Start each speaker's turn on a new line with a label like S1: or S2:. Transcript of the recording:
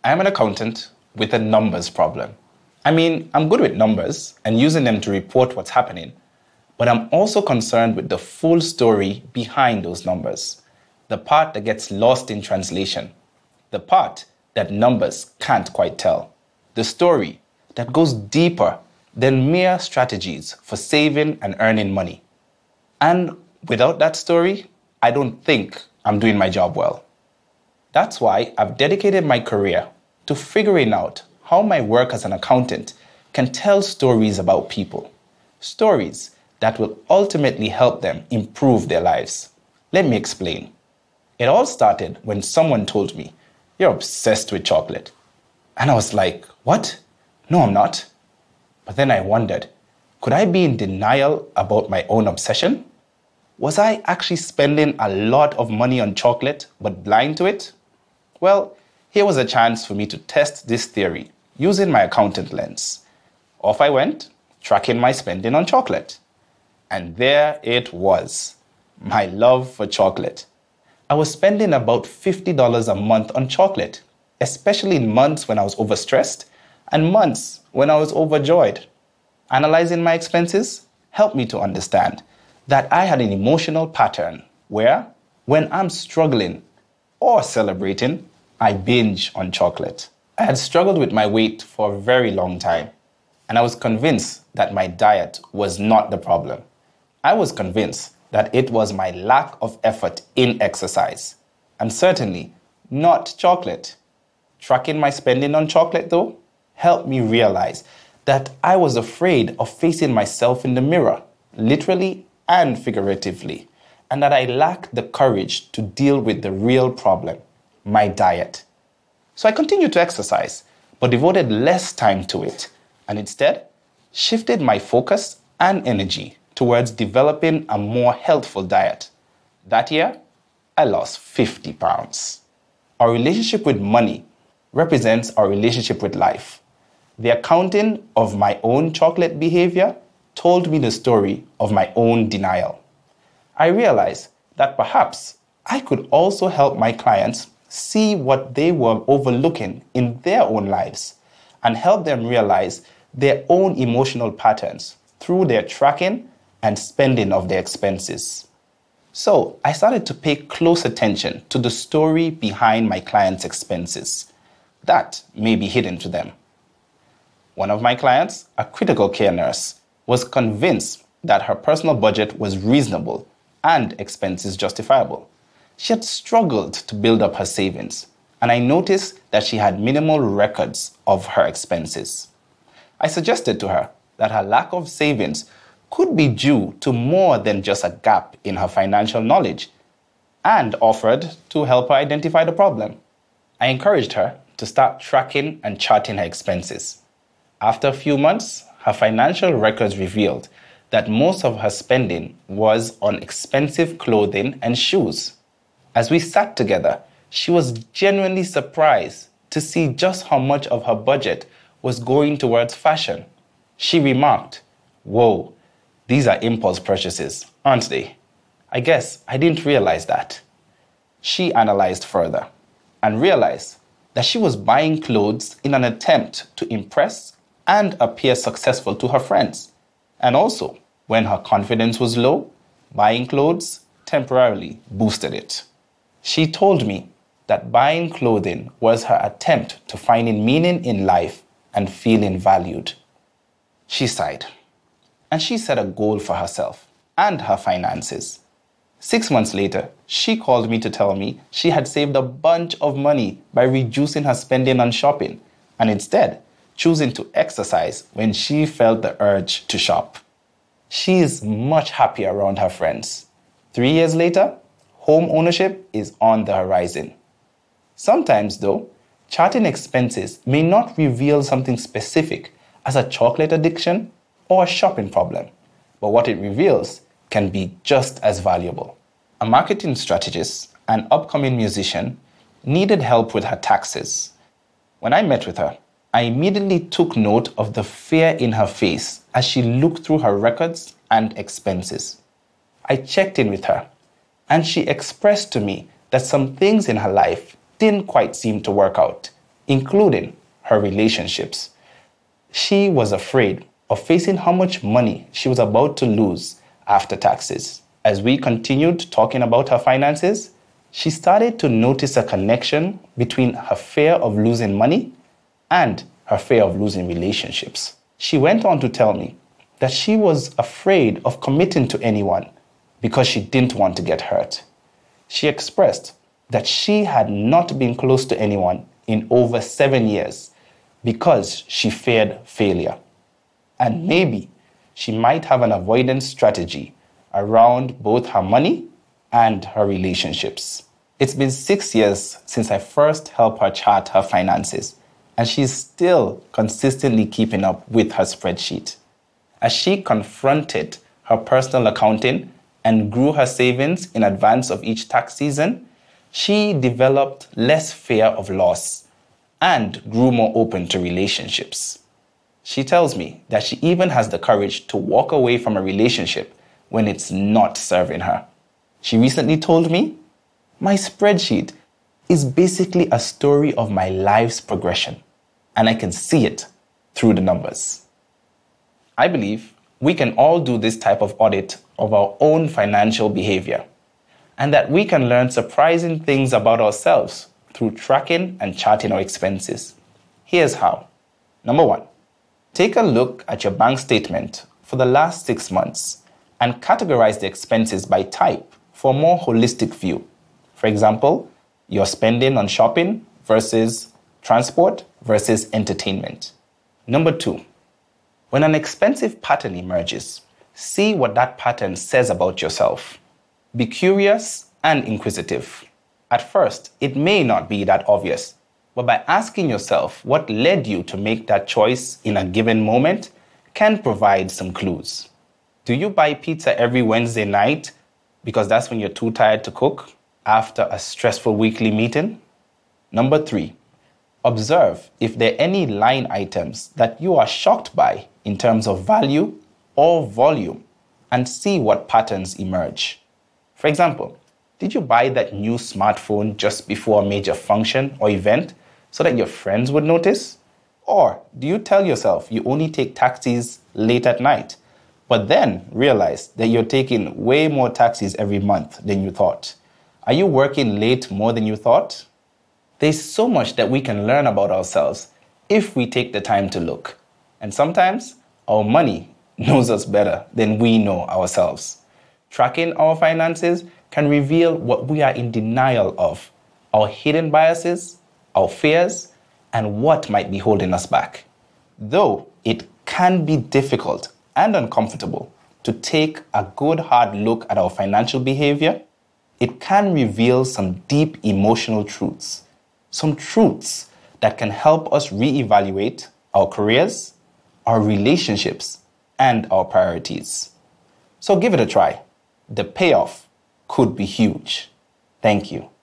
S1: I'm an accountant with a numbers problem. I mean, I'm good with numbers and using them to report what's happening, but I'm also concerned with the full story behind those numbers, the part that gets lost in translation, the part that numbers can't quite tell, the story that goes deeper than mere strategies for saving and earning money. And without that story, I don't think I'm doing my job well. That's why I've dedicated my career to figuring out how my work as an accountant can tell stories about people, stories that will ultimately help them improve their lives. Let me explain. It all started when someone told me, "You're obsessed with chocolate." And I was like, "What? No, I'm not." But then I wondered, could I be in denial about my own obsession? Was I actually spending a lot of money on chocolate but blind to it? Well, here was a chance for me to test this theory using my accountant lens. Off I went, tracking my spending on chocolate. And there it was, my love for chocolate. I was spending about $50 a month on chocolate, especially in months when I was overstressed and months when I was overjoyed. Analyzing my expenses helped me to understand that I had an emotional pattern where, when I'm struggling or celebrating, I binge on chocolate. I had struggled with my weight for a very long time, and I was convinced that my diet was not the problem. I was convinced that it was my lack of effort in exercise, and certainly not chocolate. Tracking my spending on chocolate, though, helped me realize that I was afraid of facing myself in the mirror, literally and figuratively, and that I lacked the courage to deal with the real problem, my diet. So I continued to exercise, but devoted less time to it, and instead shifted my focus and energy towards developing a more healthful diet. That year, I lost 50 pounds. Our relationship with money represents our relationship with life. The accounting of my own chocolate behavior told me the story of my own denial. I realized that perhaps I could also help my clients see what they were overlooking in their own lives and help them realize their own emotional patterns through their tracking and spending of their expenses. So I started to pay close attention to the story behind my clients' expenses that may be hidden to them. One of my clients, a critical care nurse, was convinced that her personal budget was reasonable and expenses justifiable. She had struggled to build up her savings, and I noticed that she had minimal records of her expenses. I suggested to her that her lack of savings could be due to more than just a gap in her financial knowledge, and offered to help her identify the problem. I encouraged her to start tracking and charting her expenses. After a few months, her financial records revealed that most of her spending was on expensive clothing and shoes. As we sat together, she was genuinely surprised to see just how much of her budget was going towards fashion. She remarked, "Whoa, these are impulse purchases, aren't they? I guess I didn't realize that." She analyzed further and realized that she was buying clothes in an attempt to impress and appear successful to her friends. And also, when her confidence was low, buying clothes temporarily boosted it. She told me that buying clothing was her attempt to finding meaning in life and feeling valued. She sighed, and she set a goal for herself and her finances. 6 months later, she called me to tell me she had saved a bunch of money by reducing her spending on shopping and instead choosing to exercise when she felt the urge to shop. She is much happier around her friends. 3 years later, home ownership is on the horizon. Sometimes, though, charting expenses may not reveal something specific as a chocolate addiction or a shopping problem, but what it reveals can be just as valuable. A marketing strategist, an upcoming musician, needed help with her taxes. When I met with her, I immediately took note of the fear in her face as she looked through her records and expenses. I checked in with her, and she expressed to me that some things in her life didn't quite seem to work out, including her relationships. She was afraid of facing how much money she was about to lose after taxes. As we continued talking about her finances, she started to notice a connection between her fear of losing money and her fear of losing relationships. She went on to tell me that she was afraid of committing to anyone because she didn't want to get hurt. She expressed that she had not been close to anyone in over 7 years because she feared failure. And maybe she might have an avoidance strategy around both her money and her relationships. It's been 6 years since I first helped her chart her finances, and she's still consistently keeping up with her spreadsheet. As she confronted her personal accounting and grew her savings in advance of each tax season, she developed less fear of loss and grew more open to relationships. She tells me that she even has the courage to walk away from a relationship when it's not serving her. She recently told me, "My spreadsheet is basically a story of my life's progression, and I can see it through the numbers." I believe we can all do this type of audit of our own financial behavior, and that we can learn surprising things about ourselves through tracking and charting our expenses. Here's how. Number 1, take a look at your bank statement for the last 6 months and categorize the expenses by type for a more holistic view. For example, your spending on shopping versus transport versus entertainment. Number 2, when an expensive pattern emerges, see what that pattern says about yourself. Be curious and inquisitive. At first, it may not be that obvious, but by asking yourself what led you to make that choice in a given moment can provide some clues. Do you buy pizza every Wednesday night because that's when you're too tired to cook after a stressful weekly meeting? Number 3, observe if there are any line items that you are shocked by in terms of value or volume and see what patterns emerge. For example, did you buy that new smartphone just before a major function or event so that your friends would notice? Or do you tell yourself you only take taxis late at night, but then realize that you're taking way more taxis every month than you thought? Are you working late more than you thought? There's so much that we can learn about ourselves if we take the time to look. And sometimes our money knows us better than we know ourselves. Tracking our finances can reveal what we are in denial of, our hidden biases, our fears, and what might be holding us back. Though it can be difficult and uncomfortable to take a good hard look at our financial behavior, it can reveal some deep emotional truths, some truths that can help us reevaluate our careers, our relationships, and our priorities. So give it a try. The payoff could be huge. Thank you.